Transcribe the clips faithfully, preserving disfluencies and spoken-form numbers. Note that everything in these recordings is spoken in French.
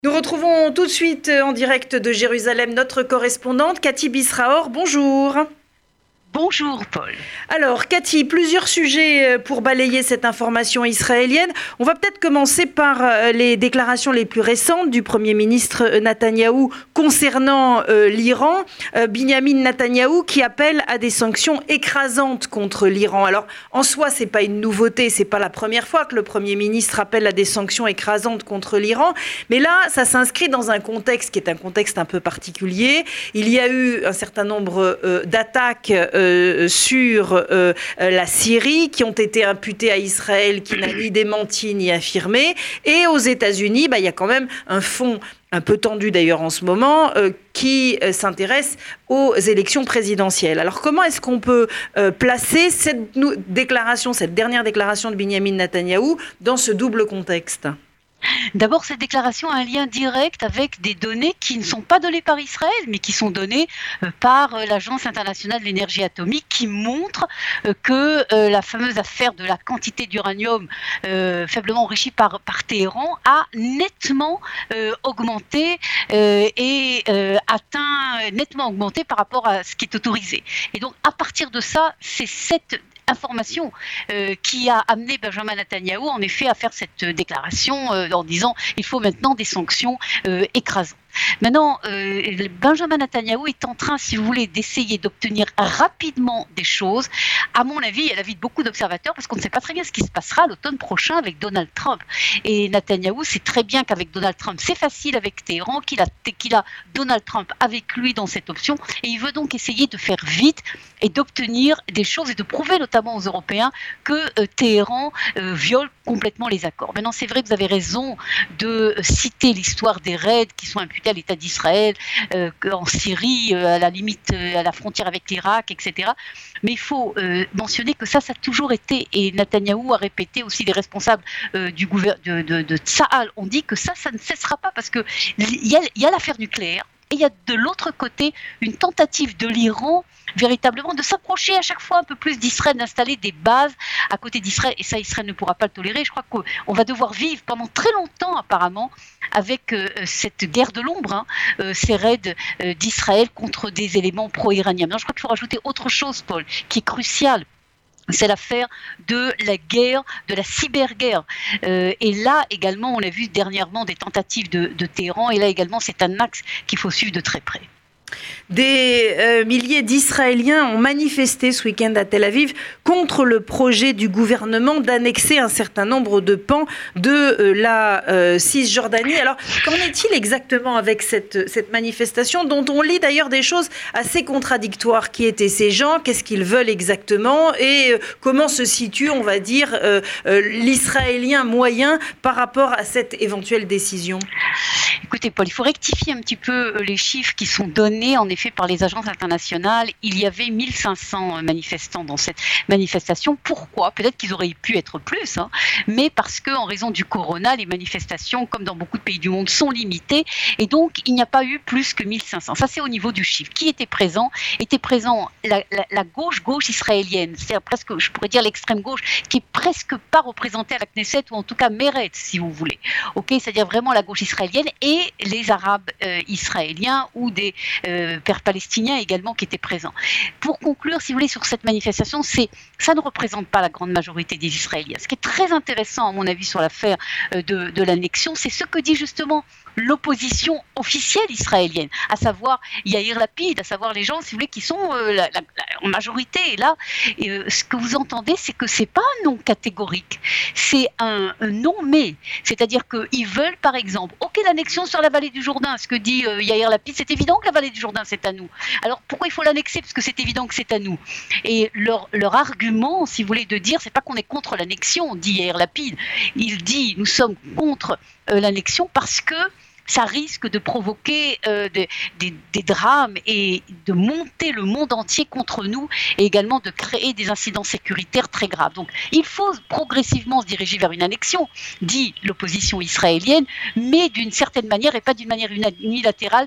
Nous retrouvons tout de suite en direct de Jérusalem notre correspondante Cathy Bisraor. Bonjour. Bonjour Paul. Alors Cathy, plusieurs sujets pour balayer cette information israélienne. On va peut-être commencer par les déclarations les plus récentes du Premier ministre Netanyahou concernant euh, l'Iran. Euh, Binyamin Netanyahou qui appelle à des sanctions écrasantes contre l'Iran. Alors en soi, c'est pas une nouveauté, c'est pas la première fois que le Premier ministre appelle à des sanctions écrasantes contre l'Iran. Mais là, ça s'inscrit dans un contexte qui est un contexte un peu particulier. Il y a eu un certain nombre euh, d'attaques euh, Euh, sur euh, la Syrie qui ont été imputées à Israël qui n'a ni démenti ni affirmé. Et aux États-Unis, bah, il y a quand même un fond un peu tendu d'ailleurs en ce moment, euh, qui euh, s'intéresse aux élections présidentielles. Alors comment est-ce qu'on peut euh, placer cette nou- déclaration, cette dernière déclaration de Binyamin Netanyahou dans ce double contexte ? D'abord, cette déclaration a un lien direct avec des données qui ne sont pas données par Israël, mais qui sont données par l'Agence internationale de l'énergie atomique, qui montre que la fameuse affaire de la quantité d'uranium euh, faiblement enrichi par, par Téhéran a nettement euh, augmenté euh, et euh, atteint nettement augmenté par rapport à ce qui est autorisé. Et donc, à partir de ça, c'est cette information euh, qui a amené Benjamin Netanyahou en effet à faire cette déclaration euh, en disant il faut maintenant des sanctions euh, écrasantes. Maintenant, euh, Benjamin Netanyahou est en train, si vous voulez, d'essayer d'obtenir rapidement des choses, à mon avis, et à l'avis de beaucoup d'observateurs, parce qu'on ne sait pas très bien ce qui se passera l'automne prochain avec Donald Trump. Et Netanyahou sait très bien qu'avec Donald Trump, c'est facile avec Téhéran, qu'il a, qu'il a Donald Trump avec lui dans cette option, et il veut donc essayer de faire vite et d'obtenir des choses et de prouver notamment aux Européens que euh, Téhéran euh, viole complètement les accords. Maintenant, c'est vrai que vous avez raison de citer l'histoire des raids qui sont imputés à l'État d'Israël, euh, en Syrie, euh, à la limite, euh, à la frontière avec l'Irak, et cetera. Mais il faut euh, mentionner que ça, ça a toujours été, et Netanyahou a répété aussi, les responsables euh, du gouvernement de, de, de Tsahal ont dit que ça, ça ne cessera pas parce qu'il y a, y a l'affaire nucléaire et il y a de l'autre côté une tentative de l'Iran véritablement de s'approcher à chaque fois un peu plus d'Israël, d'installer des bases à côté d'Israël, et ça Israël ne pourra pas le tolérer. Je crois qu'on va devoir vivre pendant très longtemps apparemment avec euh, cette guerre de l'ombre, hein, euh, ces raids euh, d'Israël contre des éléments pro-iraniens. Maintenant, je crois qu'il faut rajouter autre chose, Paul, qui est crucial. C'est l'affaire de la guerre, de la cyberguerre. Euh, et là également, on a vu dernièrement des tentatives de, de Téhéran, et là également, c'est un axe qu'il faut suivre de très près. Des euh, milliers d'Israéliens ont manifesté ce week-end à Tel Aviv contre le projet du gouvernement d'annexer un certain nombre de pans de euh, la euh, Cisjordanie. Alors, qu'en est-il exactement avec cette, cette manifestation dont on lit d'ailleurs des choses assez contradictoires? Qui étaient ces gens? Qu'est-ce qu'ils veulent exactement? Et euh, comment se situe, on va dire, euh, euh, l'Israélien moyen par rapport à cette éventuelle décision? Écoutez, Paul, il faut rectifier un petit peu les chiffres qui sont donnés en effet par les agences internationales. Il y avait mille cinq cents manifestants dans cette manifestation. Pourquoi? Peut-être qu'ils auraient pu être plus, hein, mais parce qu'en raison du corona, les manifestations, comme dans beaucoup de pays du monde, sont limitées, et donc il n'y a pas eu plus que mille cinq cents. Ça, c'est au niveau du chiffre. Qui était présent? Était présent la, la, la gauche gauche israélienne, c'est-à-dire presque, je pourrais dire l'extrême gauche, qui est presque pas représentée à la Knesset, ou en tout cas Meretz, si vous voulez. Ok, c'est-à-dire vraiment la gauche israélienne, et les Arabes euh, israéliens ou des euh, pères palestiniens également qui étaient présents. Pour conclure, si vous voulez, sur cette manifestation, c'est, ça ne représente pas la grande majorité des Israéliens. Ce qui est très intéressant, à mon avis, sur l'affaire euh, de, de l'annexion, c'est ce que dit justement l'opposition officielle israélienne, à savoir Yair Lapid, à savoir les gens, si vous voulez, qui sont euh, la, la, la, en majorité. Et là, et, euh, ce que vous entendez, c'est que c'est pas un non catégorique, c'est un, un non mais. C'est-à-dire qu'ils veulent, par exemple, ok, l'annexion sur la vallée du Jourdain, ce que dit euh, Yair Lapid, c'est évident que la vallée du Jourdain, c'est à nous. Alors pourquoi il faut l'annexer? Parce que c'est évident que c'est à nous. Et leur, leur argument, si vous voulez, de dire, c'est pas qu'on est contre l'annexion, dit Yair Lapid, il dit, nous sommes contre euh, l'annexion parce que ça risque de provoquer euh, des, des, des drames et de monter le monde entier contre nous, et également de créer des incidents sécuritaires très graves. Donc il faut progressivement se diriger vers une annexion, dit l'opposition israélienne, mais d'une certaine manière et pas d'une manière unilatérale,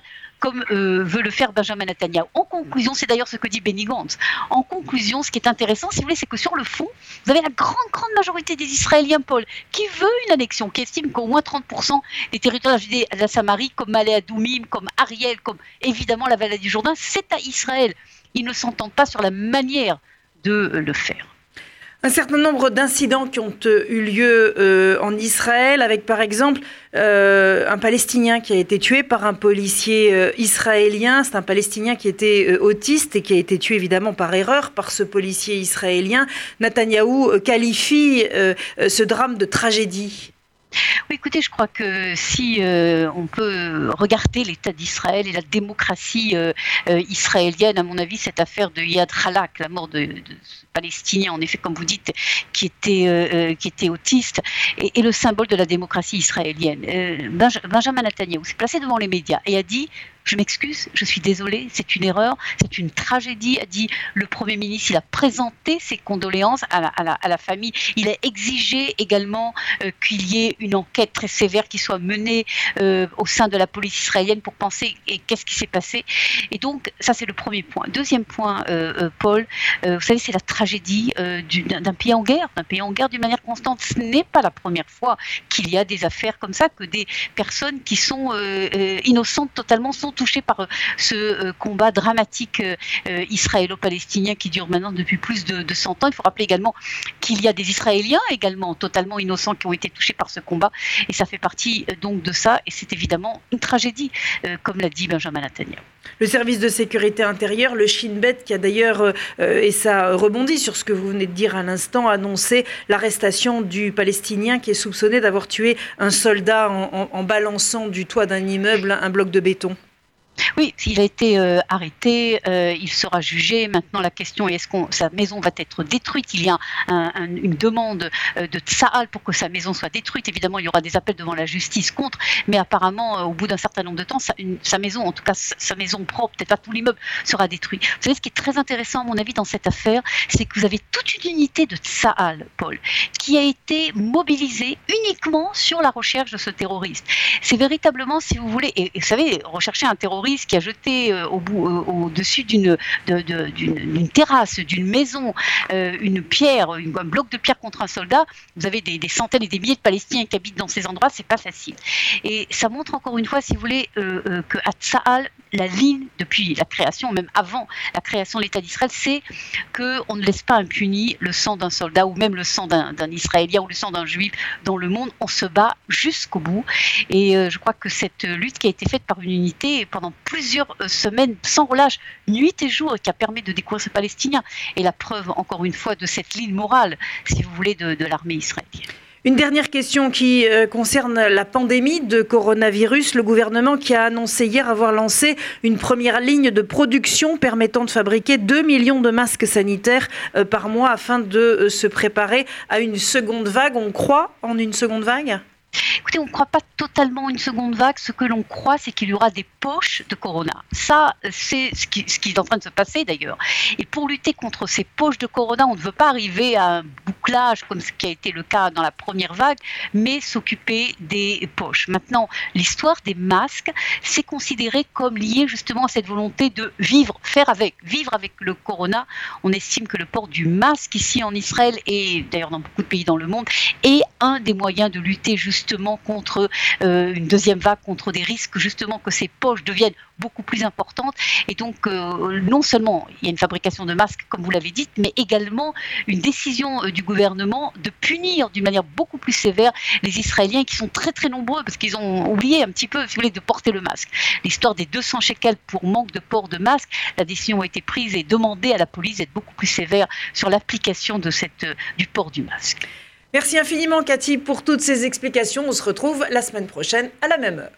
comme euh, veut le faire Benjamin Netanyahu. En conclusion, c'est d'ailleurs ce que dit Benny Gantz. En conclusion, ce qui est intéressant, si vous voulez, c'est que sur le fond, vous avez la grande, grande majorité des Israéliens, Paul, qui veut une annexion, qui estime qu'au moins trente pour cent des territoires de la Judée et de la Samarie, comme Malé Adoumim, comme Ariel, comme évidemment la vallée du Jourdain, c'est à Israël. Ils ne s'entendent pas sur la manière de le faire. Un certain nombre d'incidents qui ont eu lieu euh, en Israël, avec par exemple euh, un Palestinien qui a été tué par un policier euh, israélien. C'est un Palestinien qui était euh, autiste et qui a été tué évidemment par erreur par ce policier israélien. Netanyahou euh, qualifie euh, euh, ce drame de tragédie. Oui, écoutez, je crois que si euh, on peut regarder l'État d'Israël et la démocratie euh, euh, israélienne, à mon avis, cette affaire de Yad Khalak, la mort de, de ce Palestinien, en effet, comme vous dites, qui était, euh, qui était autiste, est, est le symbole de la démocratie israélienne. Euh, Benj- Benjamin Netanyahu s'est placé devant les médias et a dit: je m'excuse, je suis désolé, c'est une erreur, c'est une tragédie, a dit le Premier ministre. Il a présenté ses condoléances à la, à la, à la famille. Il a exigé également euh, qu'il y ait une enquête très sévère qui soit menée euh, au sein de la police israélienne pour penser et qu'est-ce qui s'est passé. Et donc, ça, c'est le premier point. Deuxième point, euh, euh, Paul, euh, vous savez, c'est la tragédie euh, du, d'un, d'un pays en guerre, d'un pays en guerre d'une manière constante. Ce n'est pas la première fois qu'il y a des affaires comme ça, que des personnes qui sont euh, euh, innocentes totalement sont touchés par ce euh, combat dramatique euh, israélo-palestinien qui dure maintenant depuis plus de, de cent ans. Il faut rappeler également qu'il y a des Israéliens également totalement innocents qui ont été touchés par ce combat, et ça fait partie euh, donc de ça, et c'est évidemment une tragédie, euh, comme l'a dit Benjamin Netanyahu. Le service de sécurité intérieure, le Shin Bet, qui a d'ailleurs, euh, et ça rebondit sur ce que vous venez de dire à l'instant, annoncé l'arrestation du Palestinien qui est soupçonné d'avoir tué un soldat en, en, en balançant du toit d'un immeuble un bloc de béton. Oui, il a été euh, arrêté, euh, il sera jugé. Maintenant, la question est: est-ce que sa maison va être détruite? Il y a un, un, une demande euh, de Tsahal pour que sa maison soit détruite. Évidemment, il y aura des appels devant la justice contre, mais apparemment, euh, au bout d'un certain nombre de temps, sa, une, sa maison, en tout cas sa maison propre, peut-être pas tout l'immeuble, sera détruit. Vous savez, ce qui est très intéressant, à mon avis, dans cette affaire, c'est que vous avez toute une unité de Tsahal, Paul, qui a été mobilisée uniquement sur la recherche de ce terroriste. C'est véritablement, si vous voulez, et, et vous savez, rechercher un terroriste qui a jeté euh, au bout, euh, au-dessus d'une, de, de, d'une, d'une terrasse, d'une maison, euh, une pierre, une, un bloc de pierre contre un soldat. Vous avez des, des centaines et des milliers de Palestiniens qui habitent dans ces endroits, c'est pas facile. Et ça montre encore une fois, si vous voulez, euh, euh, qu'à Tsahal, la ligne, depuis la création, même avant la création de l'État d'Israël, c'est qu'on ne laisse pas impuni le sang d'un soldat ou même le sang d'un, d'un Israélien ou le sang d'un Juif dans le monde. On se bat jusqu'au bout. Et euh, je crois que cette lutte qui a été faite par une unité pendant plusieurs euh, semaines, sans relâche, nuit et jour, qui a permis de découvrir ce Palestinien, est la preuve, encore une fois, de cette ligne morale, si vous voulez, de, de l'armée israélienne. Une dernière question qui euh, concerne la pandémie de coronavirus. Le gouvernement qui a annoncé hier avoir lancé une première ligne de production permettant de fabriquer deux millions de masques sanitaires euh, par mois afin de euh, se préparer à une seconde vague. On croit en une seconde vague ? Écoutez, on ne croit pas totalement une seconde vague. Ce que l'on croit, c'est qu'il y aura des poches de corona. Ça, c'est ce qui, ce qui est en train de se passer d'ailleurs. Et pour lutter contre ces poches de corona, on ne veut pas arriver à un bouclage comme ce qui a été le cas dans la première vague, mais s'occuper des poches. Maintenant, l'histoire des masques, c'est considéré comme lié justement à cette volonté de vivre, faire avec, vivre avec le corona. On estime que le port du masque ici en Israël et d'ailleurs dans beaucoup de pays dans le monde est un des moyens de lutter justement justement contre euh, une deuxième vague, contre des risques justement que ces poches deviennent beaucoup plus importantes. Et donc, euh, non seulement il y a une fabrication de masques, comme vous l'avez dit, mais également une décision euh, du gouvernement de punir d'une manière beaucoup plus sévère les Israéliens qui sont très très nombreux parce qu'ils ont oublié un petit peu, si vous voulez, de porter le masque. L'histoire des deux cents shekels pour manque de port de masque, la décision a été prise et demandée à la police d'être beaucoup plus sévère sur l'application de cette, euh, du port du masque. Merci infiniment Cathy pour toutes ces explications. On se retrouve la semaine prochaine à la même heure.